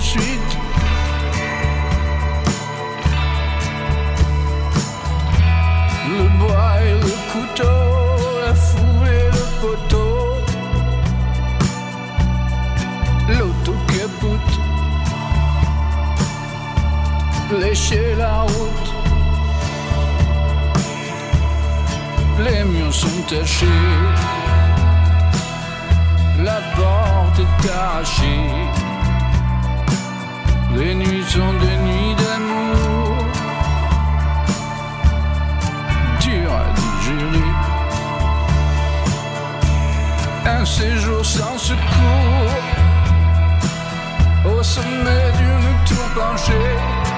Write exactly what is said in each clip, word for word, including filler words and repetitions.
ensuite. Le bois et le couteau, la foule et le poteau, l'autocapoute, lécher la route. Les murs sont tachés, la porte est arrachée. Les nuits sont des nuits d'amour, dures à digérer. Un séjour sans secours, au sommet d'une tour penchée.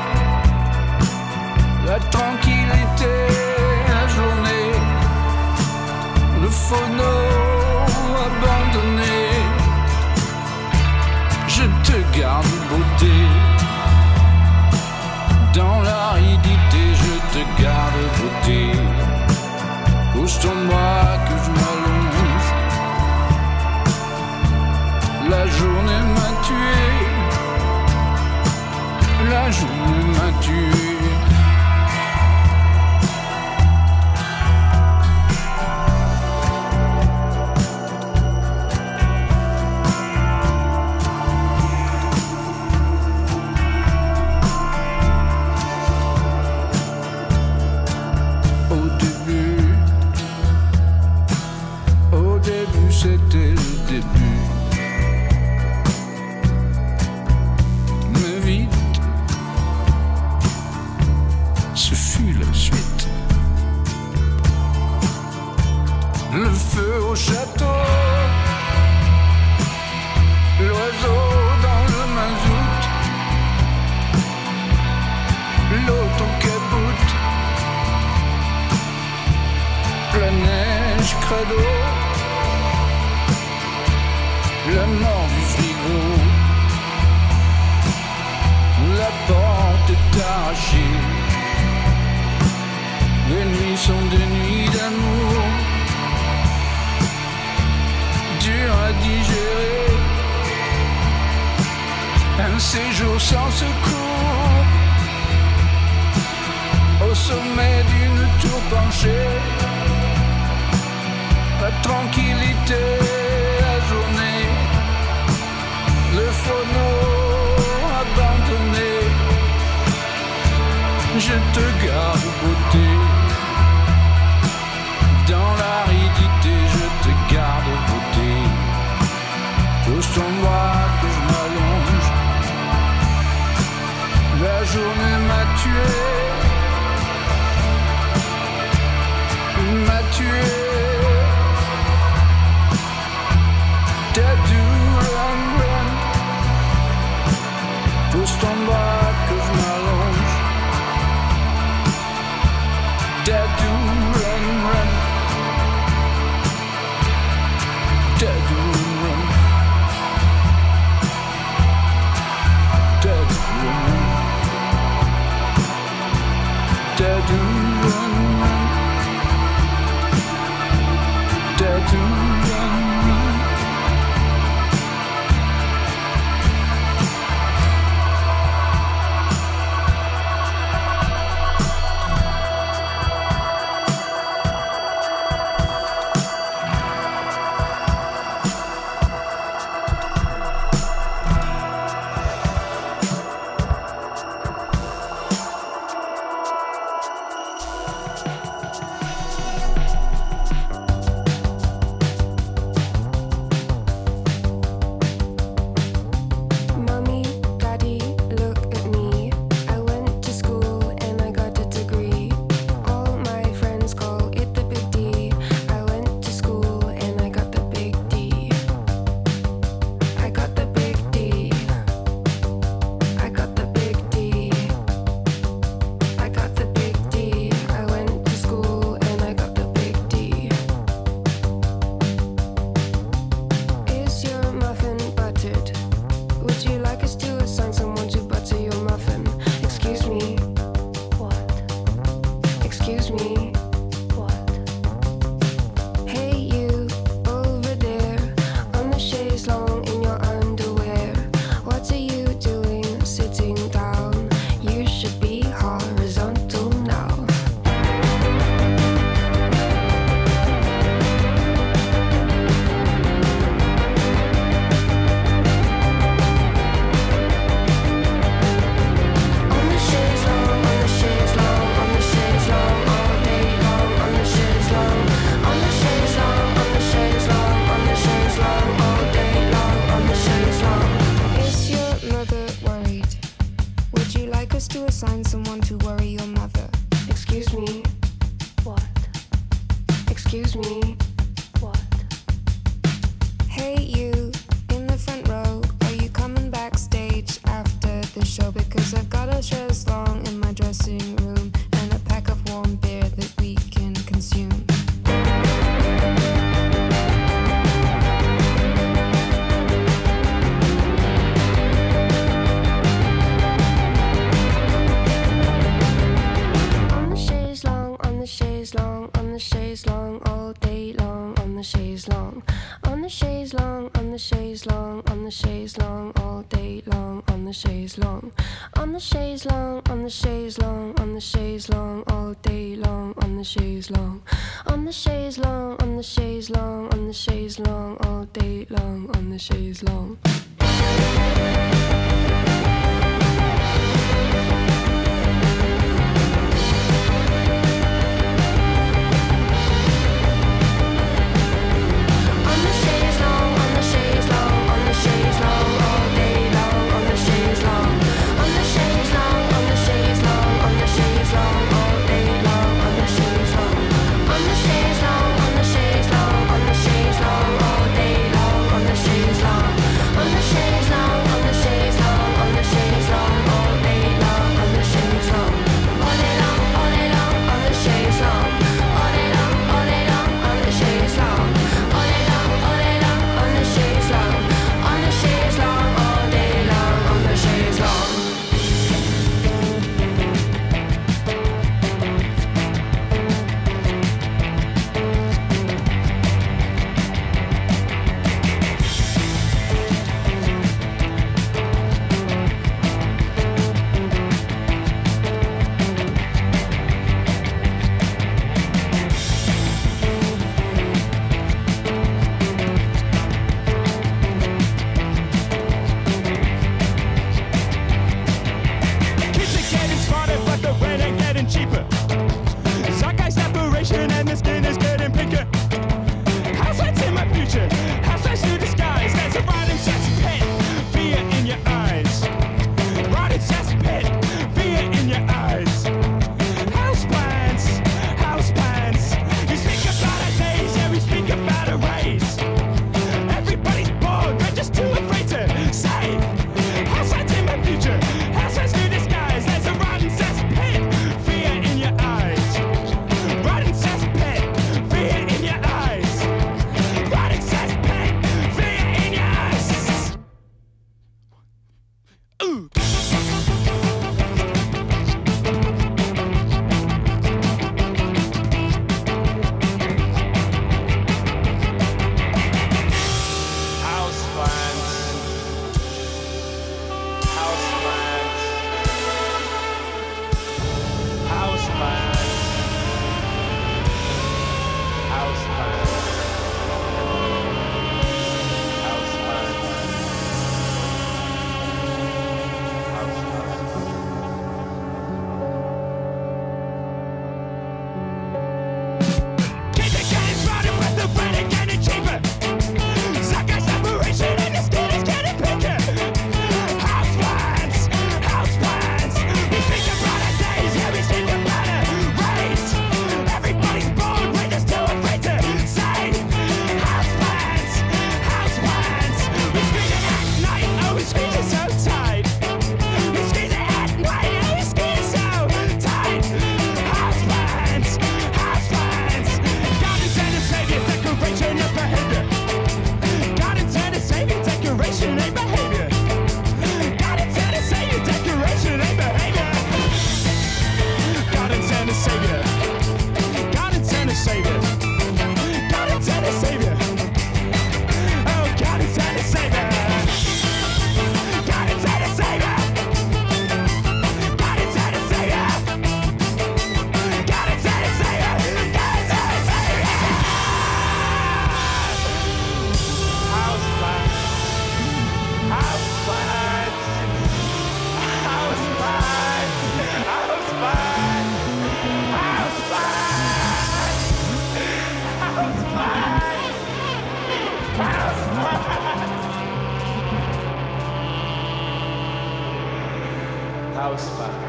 La tranquillité, la journée, le phono abandonné. Je te garde beauté, dans l'aridité je te garde beauté. Pousse-toi-moi que je m'allonge, la journée m'a tué, la journée m'a tué. C'était le début, mais vite, ce fut la suite. Le feu au château, l'oiseau dans le mazout, l'autocapoute, la neige credo, la mort du frigo, la porte est arrachée. Les nuits sont des nuits d'amour, dures à digérer. Un séjour sans secours, au sommet d'une tour penchée. La tranquillité, la journée, le phono abandonné. Je te garde beauté, dans l'aridité je te garde beauté. Pousse-toi-moi que je m'allonge, la journée m'a tué, m'a tué. Pousse-toi-moi que je m'allonge, Dadou run run, Dadou run, Dadou run, Dadou run run, to assign someone to worry your mother. Excuse me. What? Excuse me. What? Hey you, in the front row, are you coming backstage after the show? Because I've got a chaise longue in my dressing room and a pack of warm beer that we can consume. Chaise longue, on the chaise longue, all day long, on the chaise longue, on the chaise longue, on the chaise longue, on the chaise longue, all day long, on the chaise longue, on the chaise longue, on the chaise longue, on the chaise longue, all day long, on the chaise longue, on the chaise longue, on the chaise longue, on the chaise longue, all day long, on the chaise longue. house bands.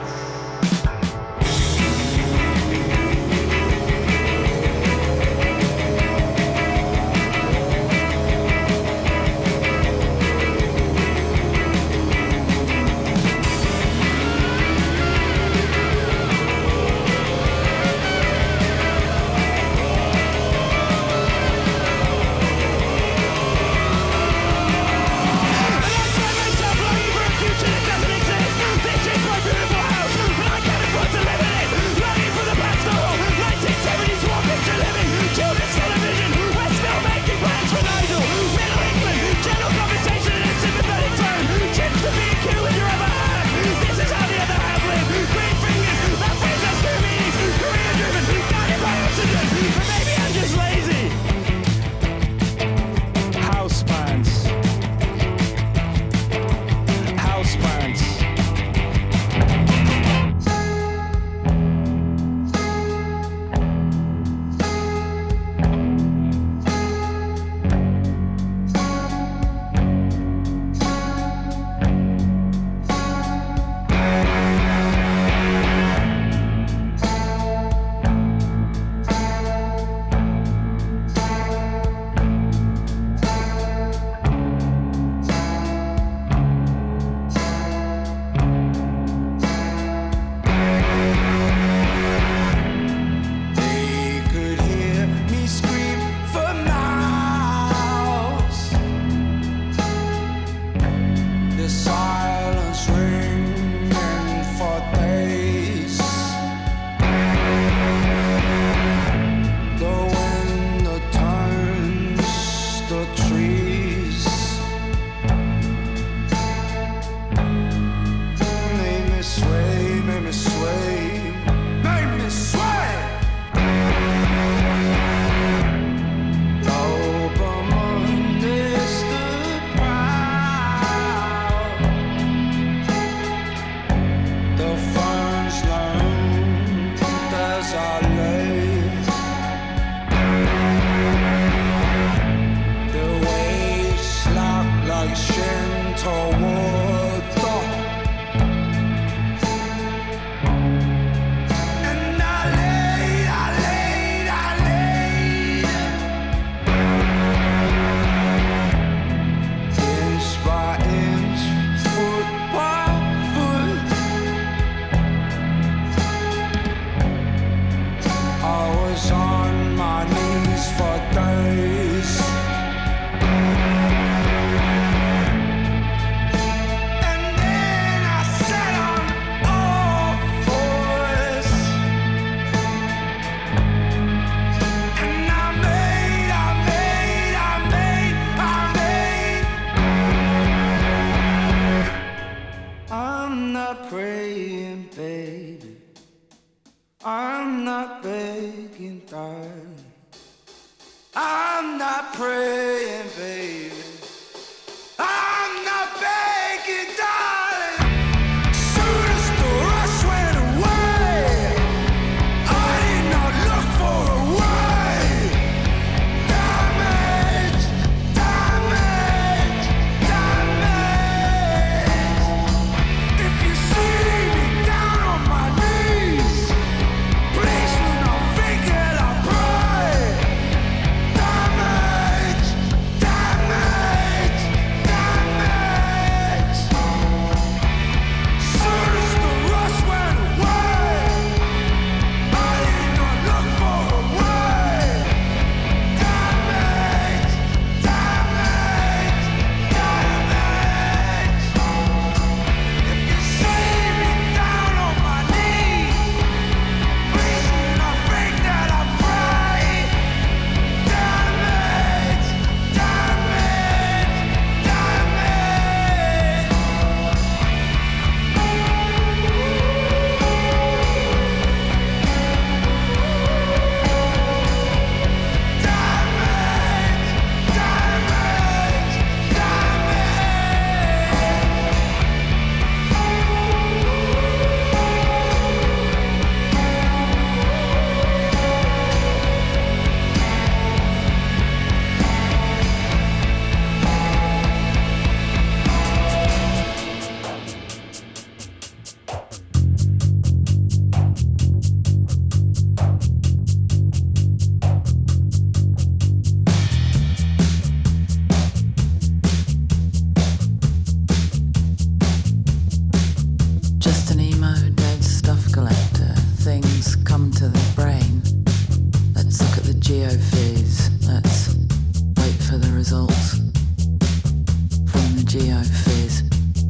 things come to the brain. Let's look at the geophys. Let's wait for the results from the geophys.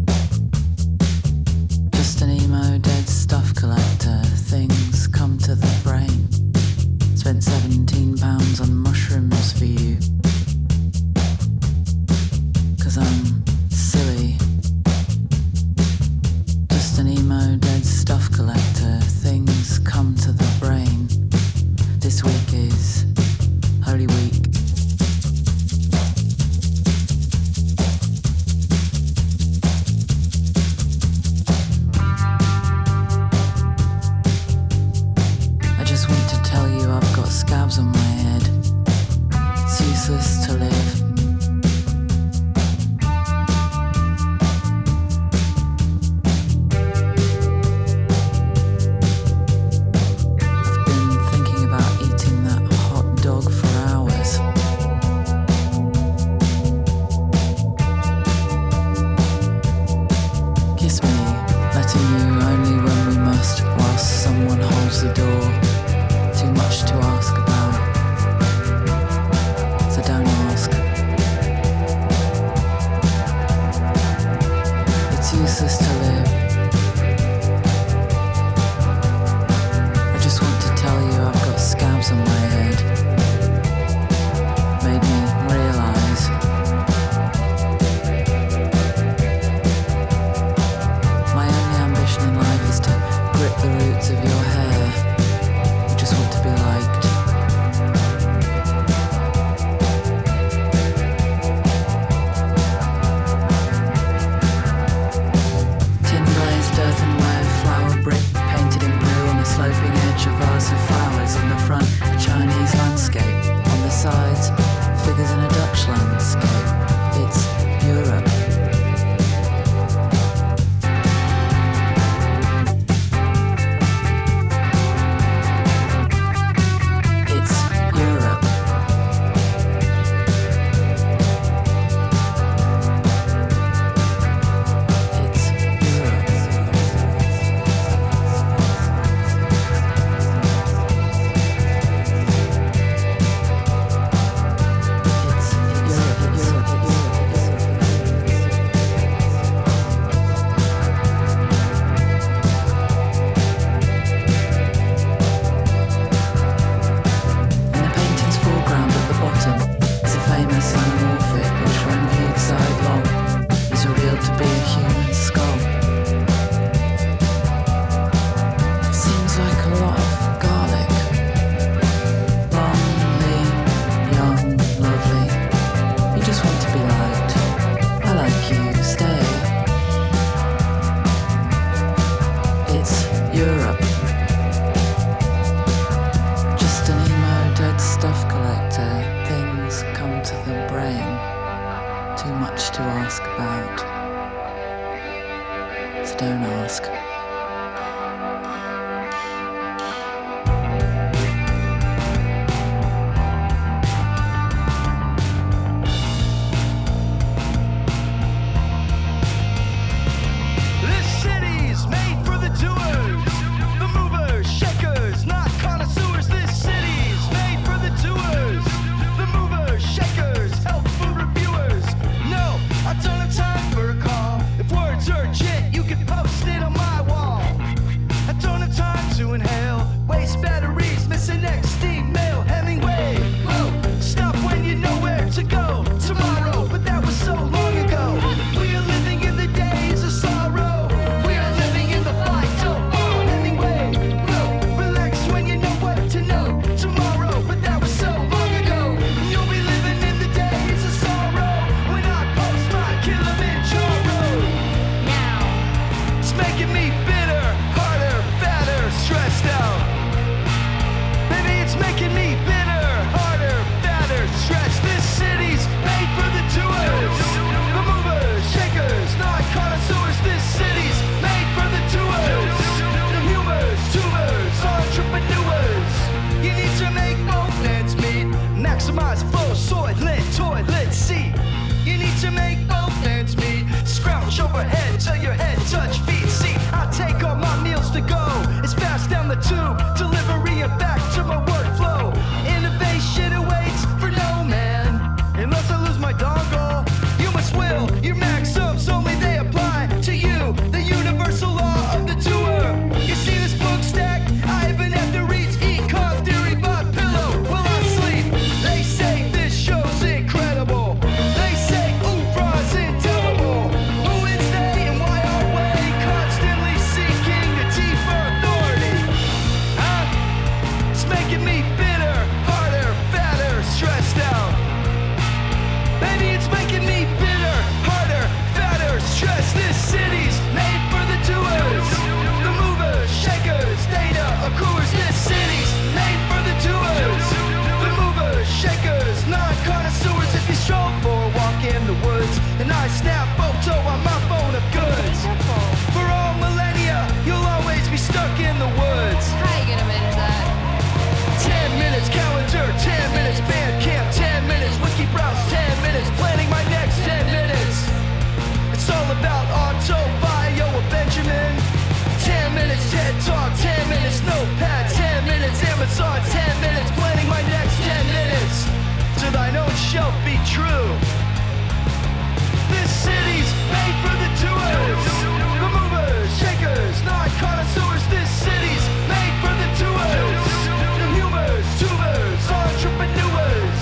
Just an emo dead stuff collector. Things come to the brain. Spent seventeen pounds on mushrooms for you. Cause I'm silly. Just an emo dead stuff collector. Things come to the brain. This week is Holy Week. I just want to tell you I've got scabs on my head. It's useless to live. The door, too much to ask about, so don't ask. It's useless to live. I just want to tell you I've got scabs on my head. Made me realise my only ambition in life is to grip the roots of your hair. Want to be liked. Tin glazed earthenware, flower brick painted in blue on the sloping edge, a vase of flowers on the front, a Chinese landscape on the sides, figures in a Dutch landscape. It's Europe. Overhead till your head touch feet. See, I take all my meals to go. It's fast down the tube. saw ten minutes, planning my next ten minutes. To thine own shelf be true. This city's made for the doers, the movers, shakers, not connoisseurs. This city's made for the doers, the humors, tubers, entrepreneurs.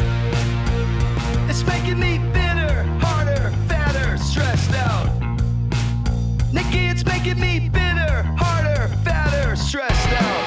It's making me thinner, harder, fatter, stressed out. Nikki, it's making me thinner, harder, fatter, stressed out.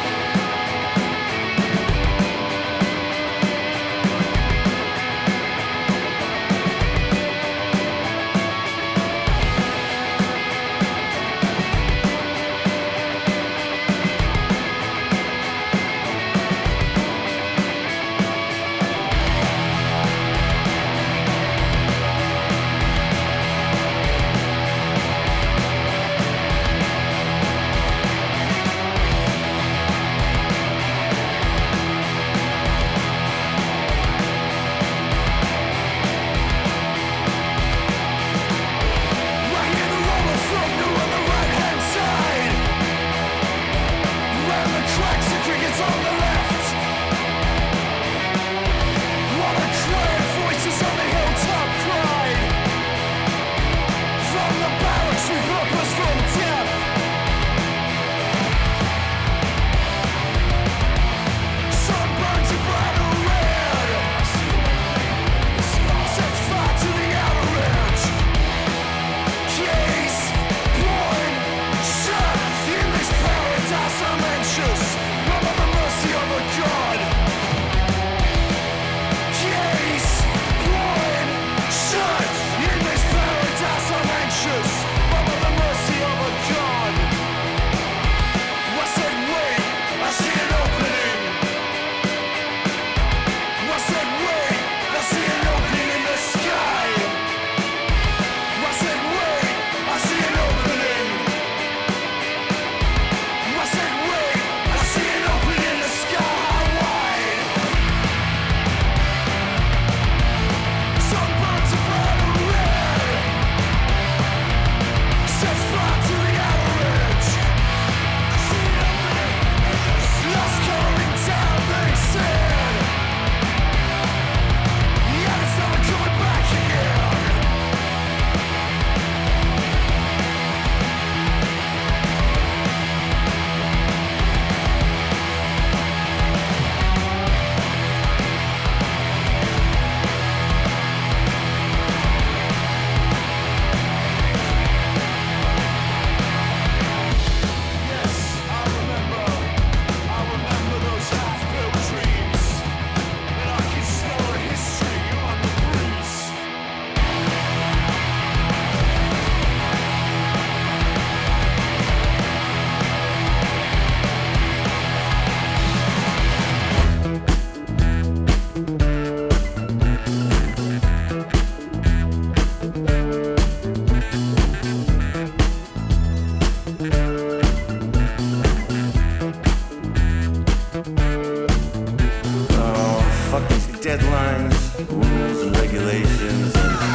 deadlines, rules and regulations,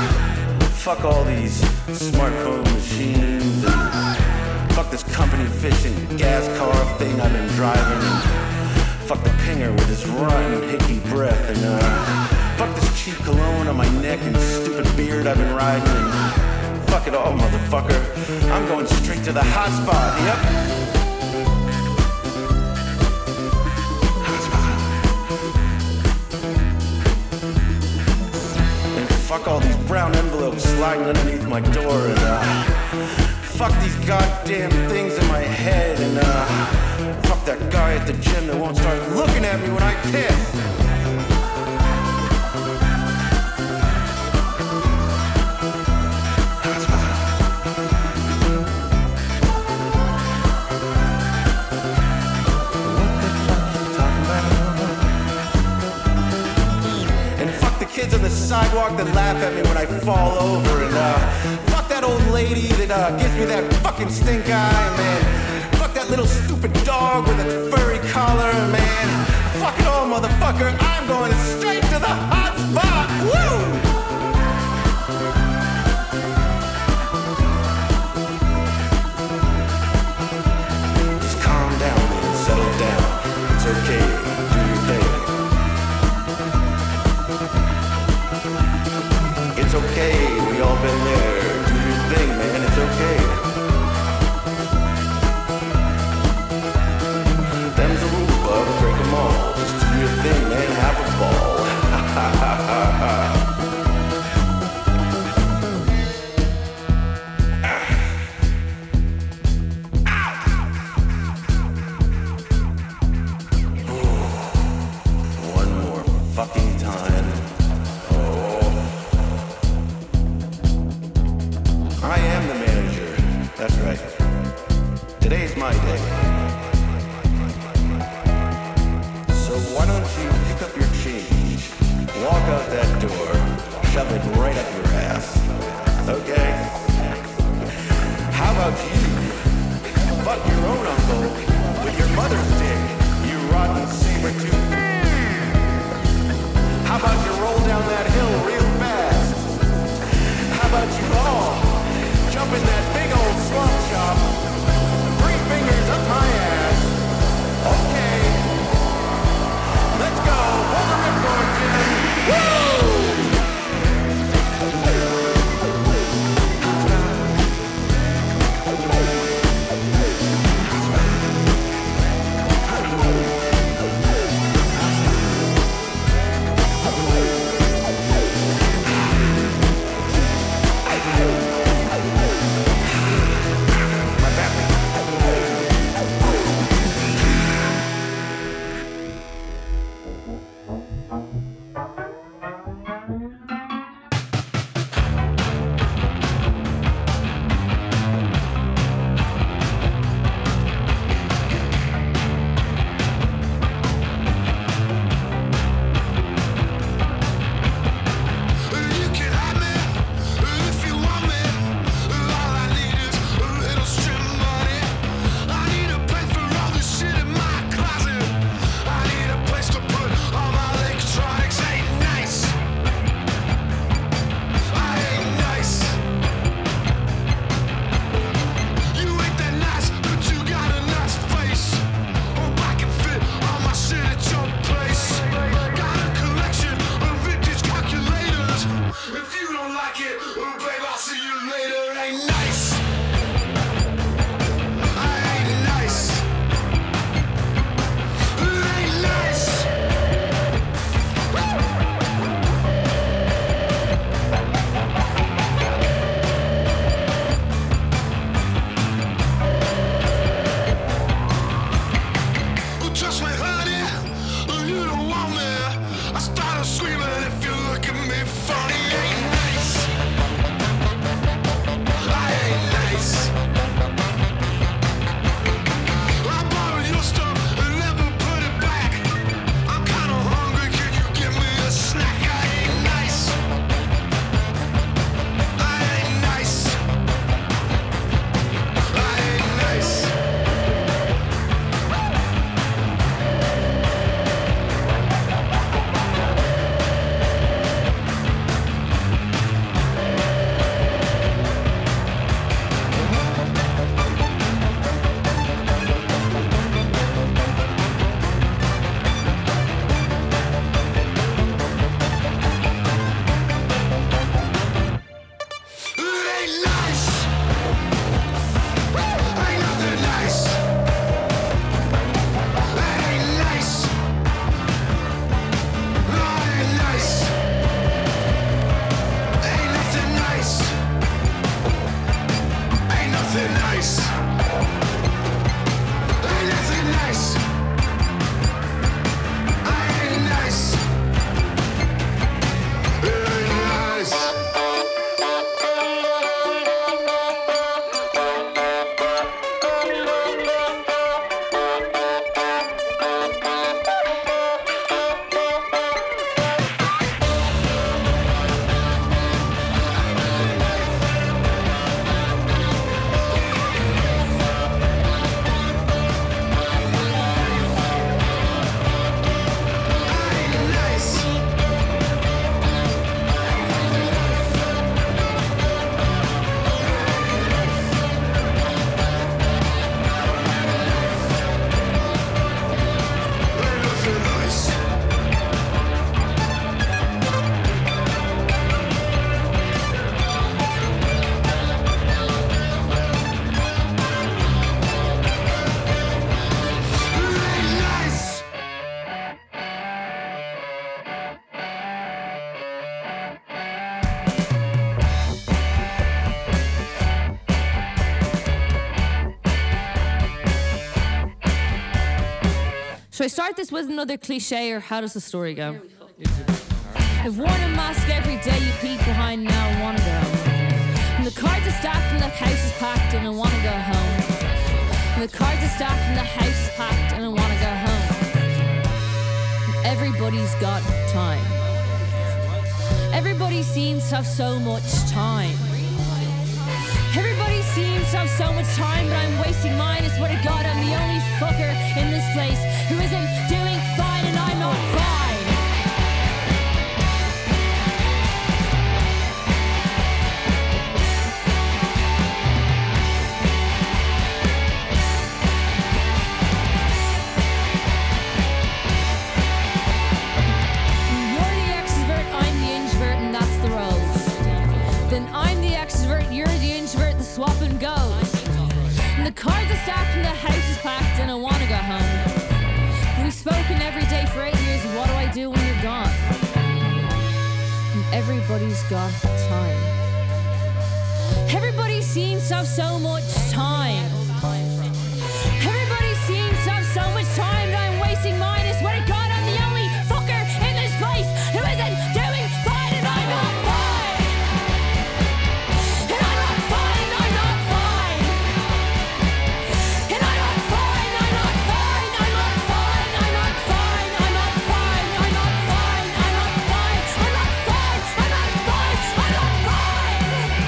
and fuck all these smartphone machines, and fuck this company fishing gas car thing I've been driving, and fuck the pinger with his rotten hickey breath, and uh, fuck this cheap cologne on my neck and stupid beard I've been riding, and fuck it all, motherfucker. I'm going straight to the hot spot, yep. Fuck all these brown envelopes sliding underneath my door, and uh, fuck these goddamn things in my head, and uh, fuck that guy at the gym that won't start looking at me when I piss. Kids on the sidewalk that laugh at me when I fall over, and uh, fuck that old lady that uh, gives me that fucking stink eye, man. Fuck that little stupid dog with a furry collar, man. Fuck it all, motherfucker. I'm going straight to the hot spot. Woo! Just calm down, man. Settle down. It's okay. Today's my day. So why don't you pick up your change, walk out that door, shove it right up your ass, okay? How about you fuck your own uncle with your mother's dick, you rotten saber-tooth? How about you roll down that hill real fast? How about you all jump in that big old swamp shop, three fingers up my ass? Okay, let's go, hold the ripcord, Jim. Woo! Should I start this with another cliche, or how does the story go? I've worn a mask every day, you peek behind now and wanna go home. And the cards are stacked and the house is packed and I wanna go home. And the cards are stacked and the house is packed and I wanna go home. Everybody's got time. Everybody seems to have so much time. Everybody seems to have so much time, but I'm wasting mine. I swear to God, I'm the only fucker in this place who isn't doing fine, and I'm not fine. You're the extrovert, I'm the introvert, and that's the roles. Then I'm the extrovert, you're the introvert, the swap and goes. And the cards are stacked and the house is packed and I wanna go home. We've spoken every day for eight years, what do I do when you're gone? And everybody's got time. Everybody seems to have so much time. Everybody seems to have so much time and I'm wasting mine. I swear to God, I'm the only fucker in this place who isn't doing fine, and I'm not fine. And I'm not fine, I'm not fine. And I'm not fine, I'm not fine, I'm not fine, I'm not fine, I'm not fine, I'm not fine, I'm not fine, I'm not fine, I'm not fine, I'm not fine.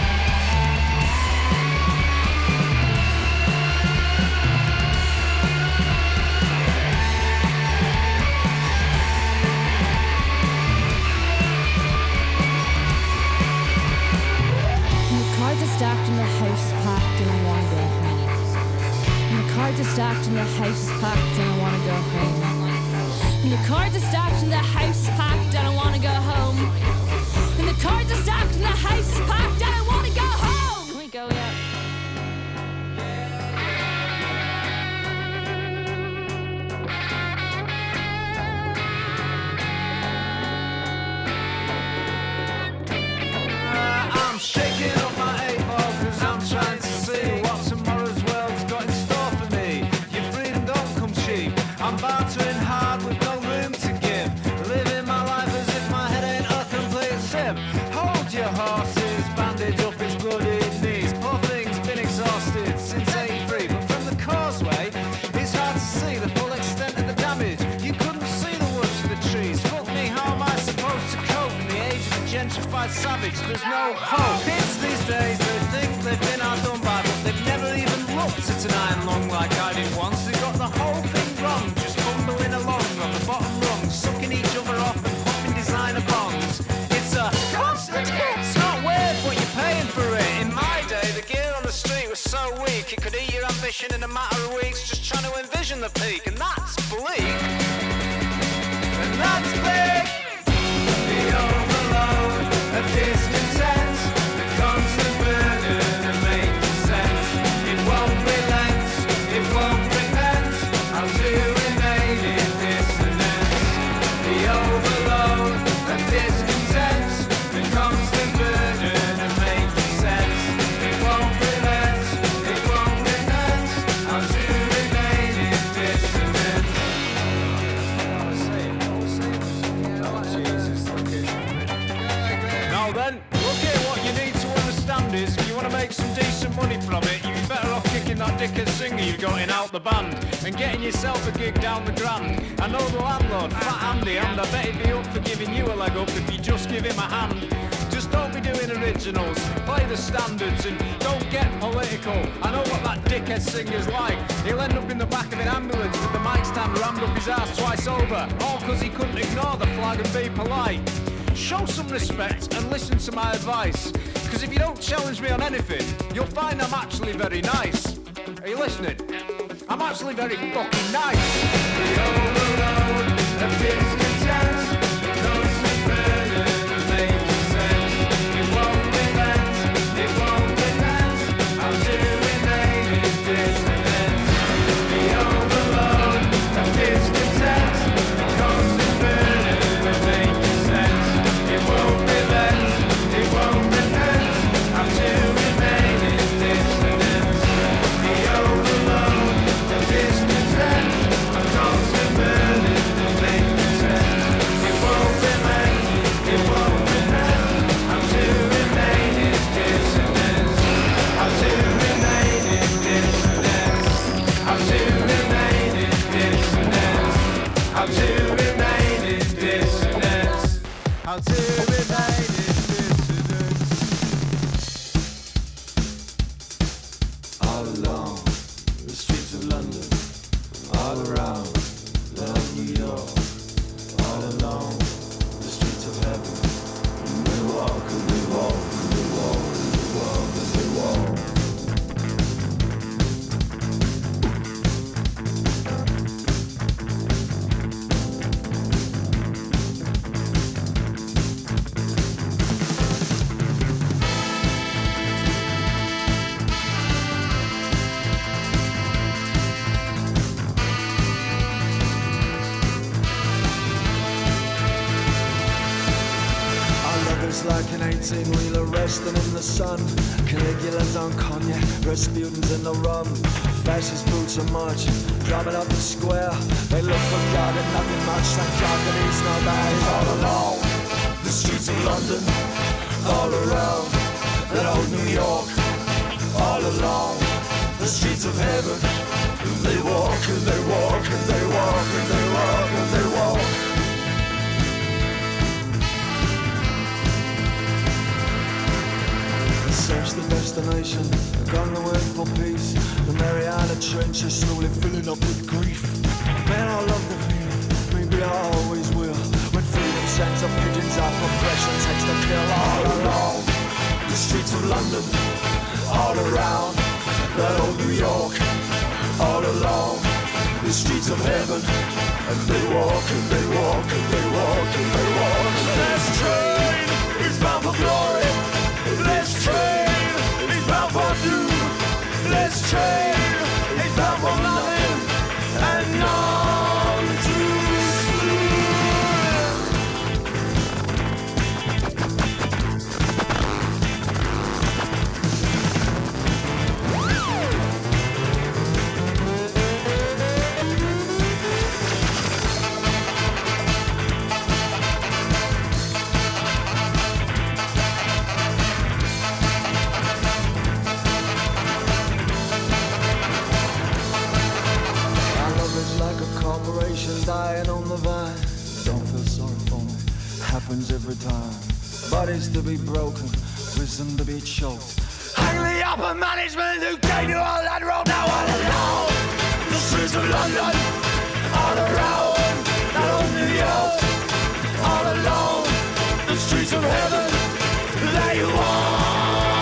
And the cards are stacked and the house is packed and I wanna go home. And the cards are stacked and the house is packed and I wanna go home. And the cards are stacked and the house is packed and I wanna go home. And the cards are stacked and the house is packed and I wanna go home. Can we go yet? I'm shaking up my eight ball cause I'm trying to see what tomorrow's world's got in store for me. Your freedom don't come cheap. I'm bartering hard with no room to give. Living my life as if my head ain't a complete sieve. Hold your horses, bandage up his bloodied knees. Poor thing's been exhausted since eighty-three. But from the causeway, it's hard to see the full extent of the damage. You couldn't see the woods for the trees. Fuck me, how am I supposed to cope in the age of the gentrified savage? There's no hope. Kids these days, they think they've been outdone by, but they've never even looked at an iron lung like I did once. They got the whole thing wrong, just bumbling along on the bottom rung, sucking each other off and popping designer bonds. It's a constant hit. It's not weird, but you're paying for it. In my day, the gear on the street was so weak, it could eat your ambition in a matter of weeks, just trying to envision the peak, and that's bleak. And that's big. The overload of discontent, the constant burden of making sense. It won't relent, it won't repent. How to remain in dissonance. The overload of discontent, the constant burden of making sense. It won't relent, it won't repent. How to remain in dissonance. Now then, look here, what you need to understand is if you want to make some decent money from it, you'd be better off kicking that dickhead singer you got in out the band and getting yourself a gig down the Grand. I know the landlord, Fat Andy, and I bet he'd be up for giving you a leg up if you just give him a hand. Just don't be doing originals, play the standards and don't get political. I know what that dickhead singer's like. He'll end up in the back of an ambulance with the mic stand rammed up his ass twice over, all because he couldn't ignore the flag and be polite. Show some respect and listen to my advice, because if you don't challenge me on anything, you'll find I'm actually very nice. Are you listening? I'm actually very fucking nice. The overload of discontent, the constant burden of making sense. It won't relent, it won't repent. How to remain in dissonance. The overload of discontent, the constant burden of making sense. It won't relent, it won't repent. How to remain in dissonance. The overload of discontent, a constant burden of making sense. how to remain in dissidence. All along the streets of London, all around love New York, all along the streets of heaven. And they walk and they walk and they walk and they walk and they walk. Like an eighteen-wheeler resting in the sun, Caligula's on cognac, Rasputin's in the rum. Fascist boots are marching, drumming up the square. They look for God and nothing much, thank God that he's not there. All along the streets of London, all around that old New York, all along the streets of heaven. They walk and they walk and they walk and they walk and they walk. Search the destination, gone the word for peace. The Mariana Trench is slowly filling up with grief. Man, I love the feeling, maybe I always will. When freedom sends up pigeons out, oppression takes the kill. All along the streets of London, all around that old New York, all along the streets of heaven. And they walk and they walk and they walk and they walk. This train is bound for glory. This train is bound for doom. This train is bound for nothing and none too soon. Dying on the vine, don't feel sorry for me, happens every time. Bodies to be broken, wisdom to be choked. Hang the upper management who gave you all that road. Now all along the streets of London, all around that old New York, all along the streets of heaven, there you are.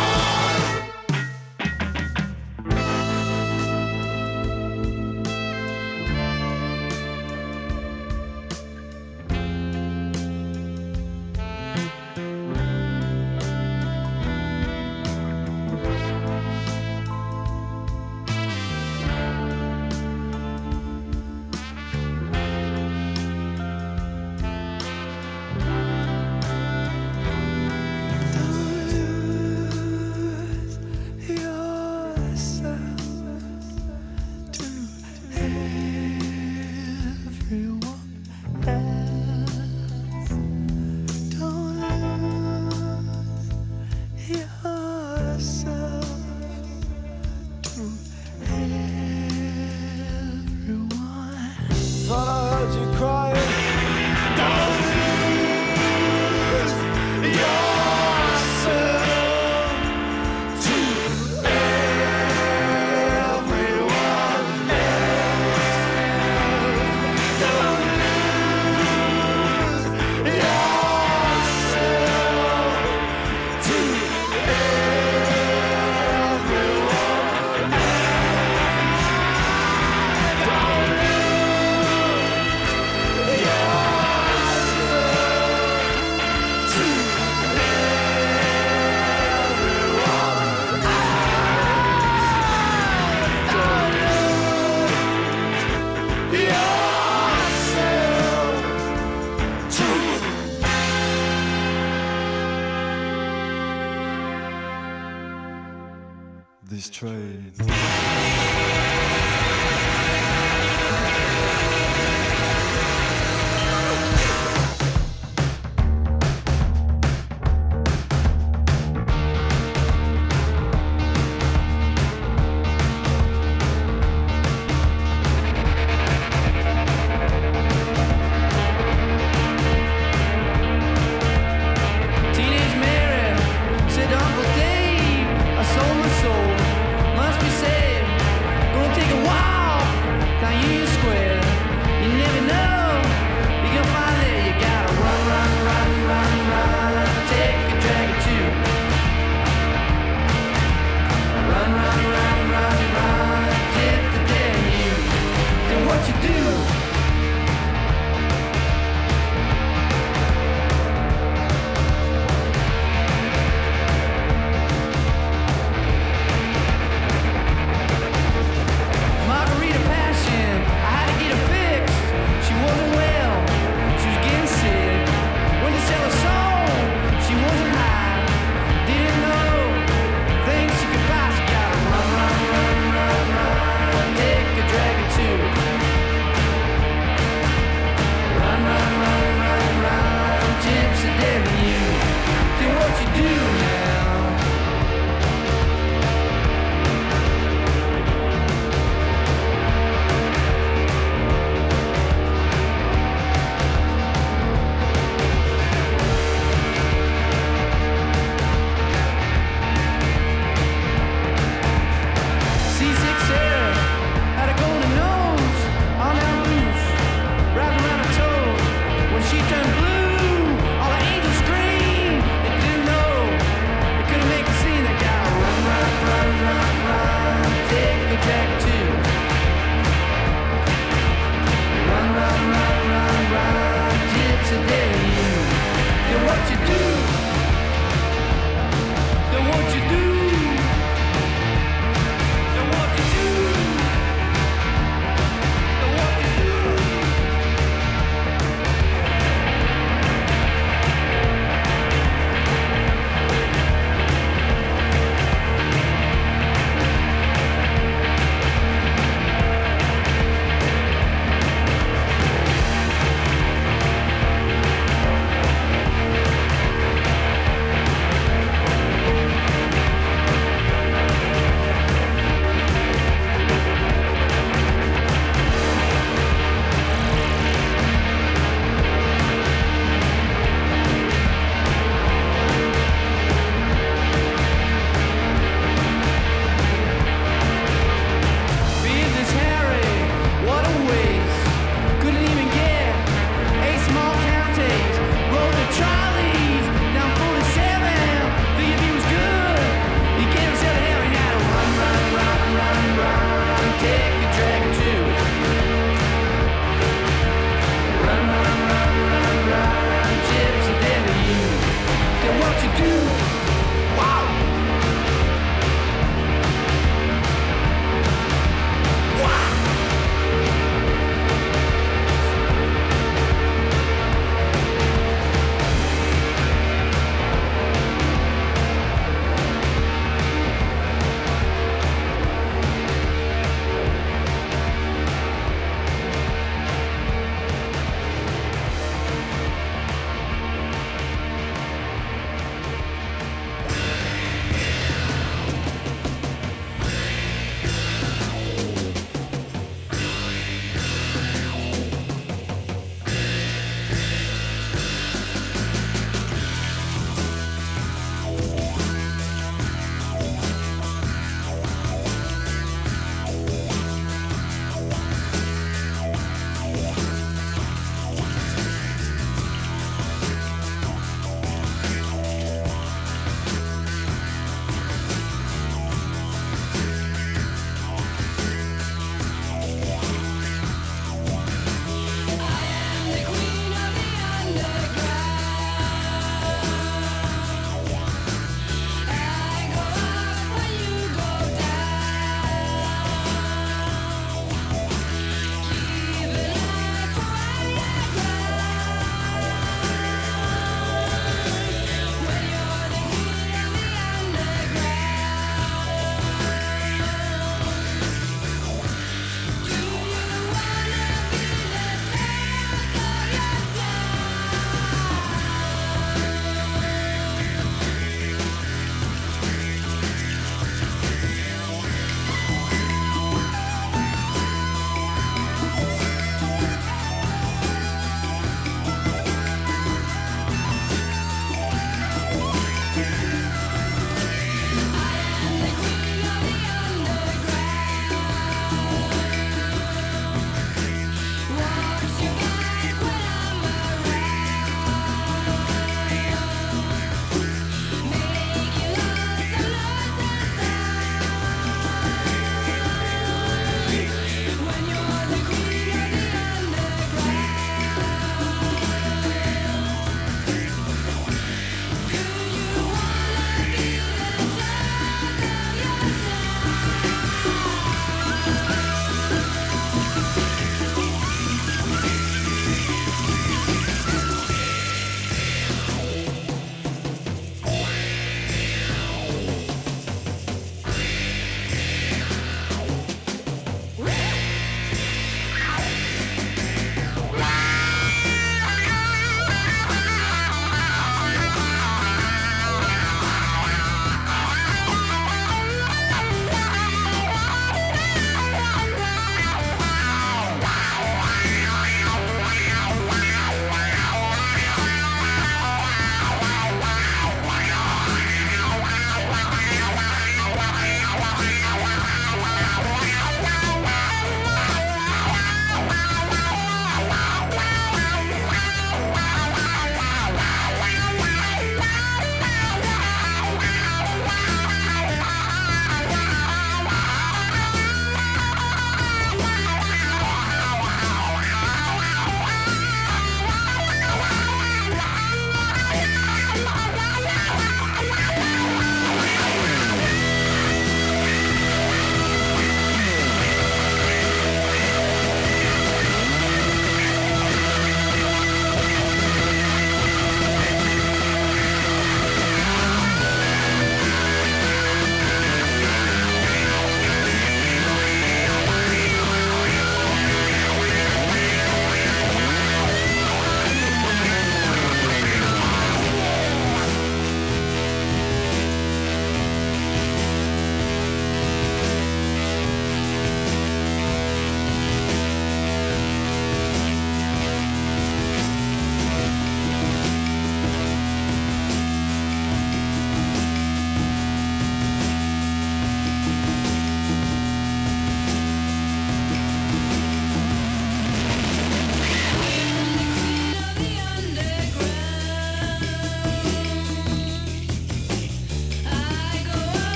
This train.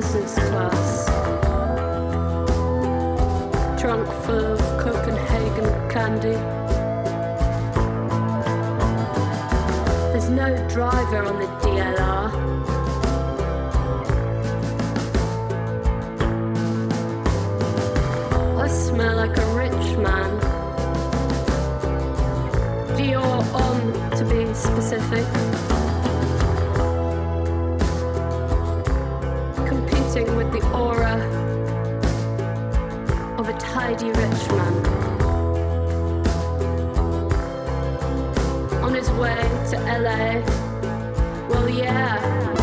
business class. Trunk full of Copenhagen candy. There's no driver on the D L R. I smell like a rich man. Dior on, to be specific. Competing with the aura of a tidy rich man. On his way to L A. Well, yeah.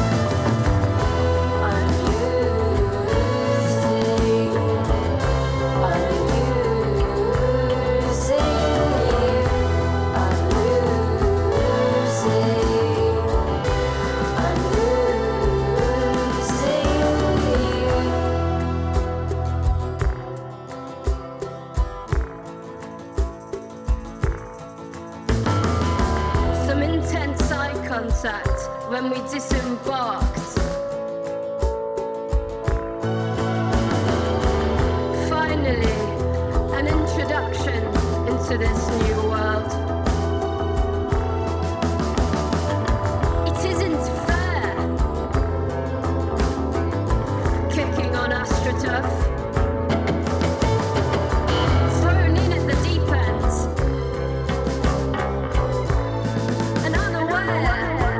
When we disembarked, finally an introduction into this new world. It isn't fair, kicking on AstroTurf, thrown in at the deep end, and unaware.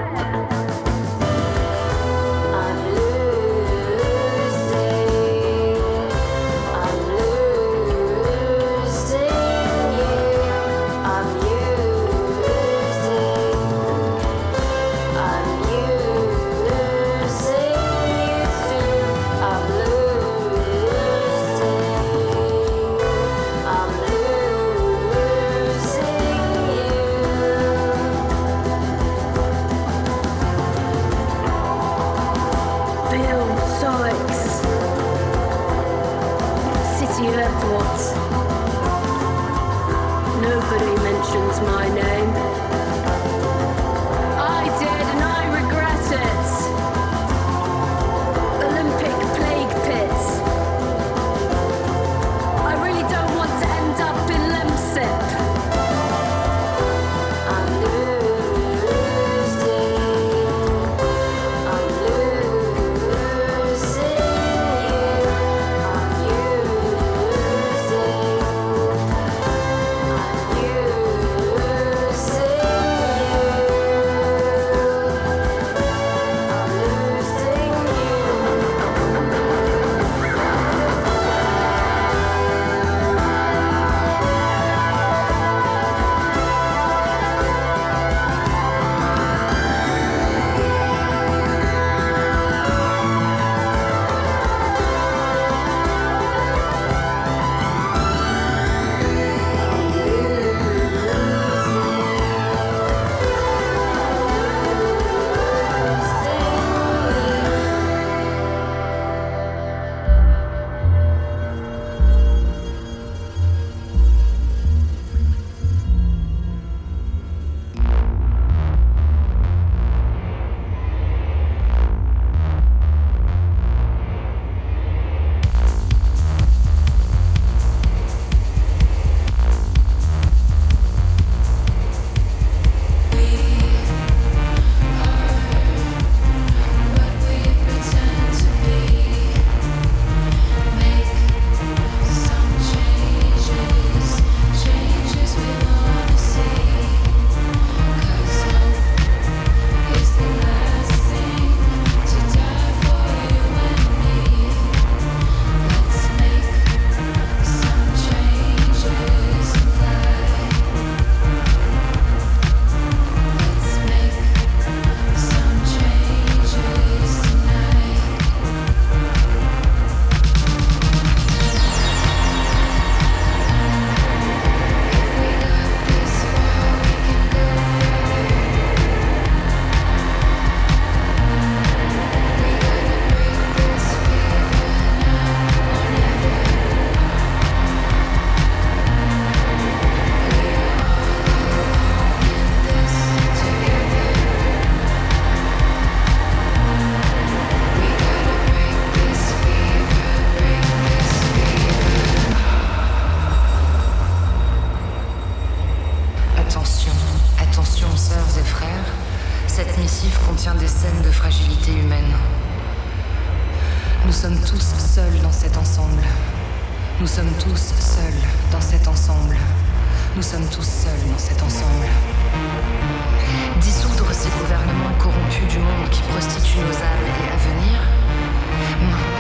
Nobody mentions my name. I did and I regret it. Olympic plague pits. I really don't want to end up in Lemsip. I'm losing. I'm losing you. I'm losing. I'm losing. sommes tous seuls dans cet ensemble. Nous sommes tous seuls dans cet ensemble. Nous sommes tous seuls dans cet ensemble. Dissoudre ces gouvernements corrompus du monde qui prostituent nos âmes et à venir. Non.